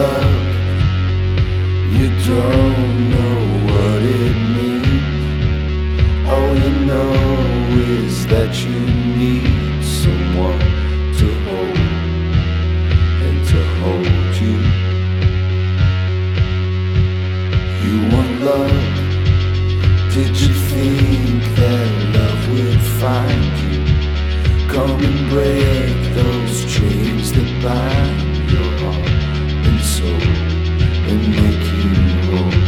love, you don't know what it means. All you know is that you need someone to hold and to hold you. You want love, did you think that love would find you? Come and break those chains that bind your heart and soul and make you whole.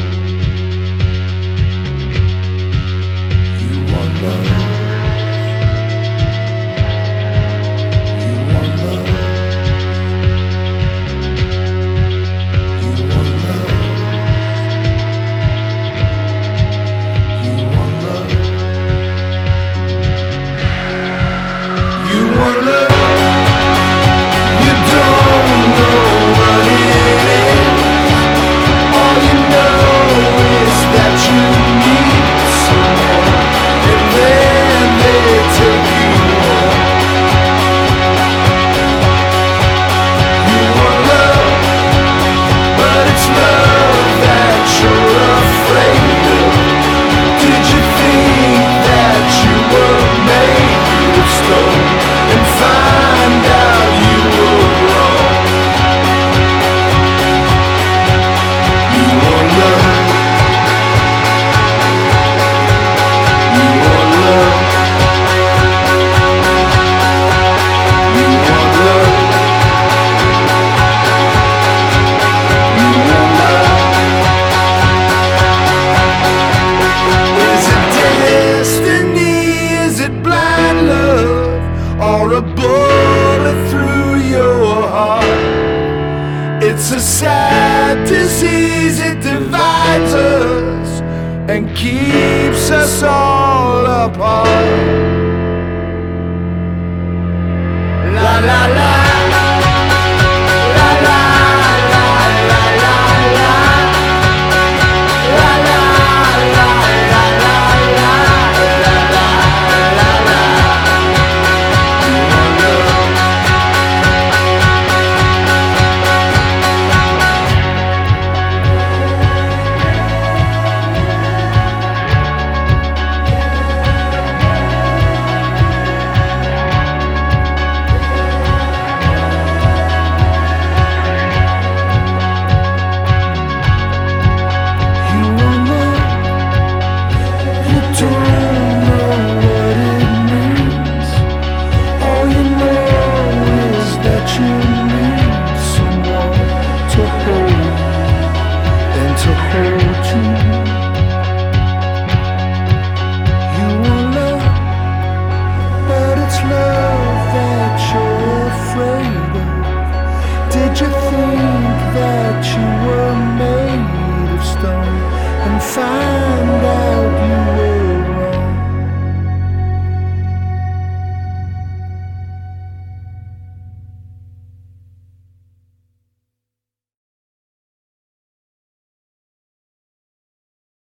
You want love. You want love. You want love. You want love. You want love. You don't know what it is. All you know is that you need someone, and then they take you home. You want love, but it's love that you're afraid of. Did you think that you were made of stone and find out you were wrong? You want love. You want love. You want love. You want love. Is it destiny? Is it blind love? Or a bullet through your heart? It's a sad disease, it divides us and keeps us all apart. La la la.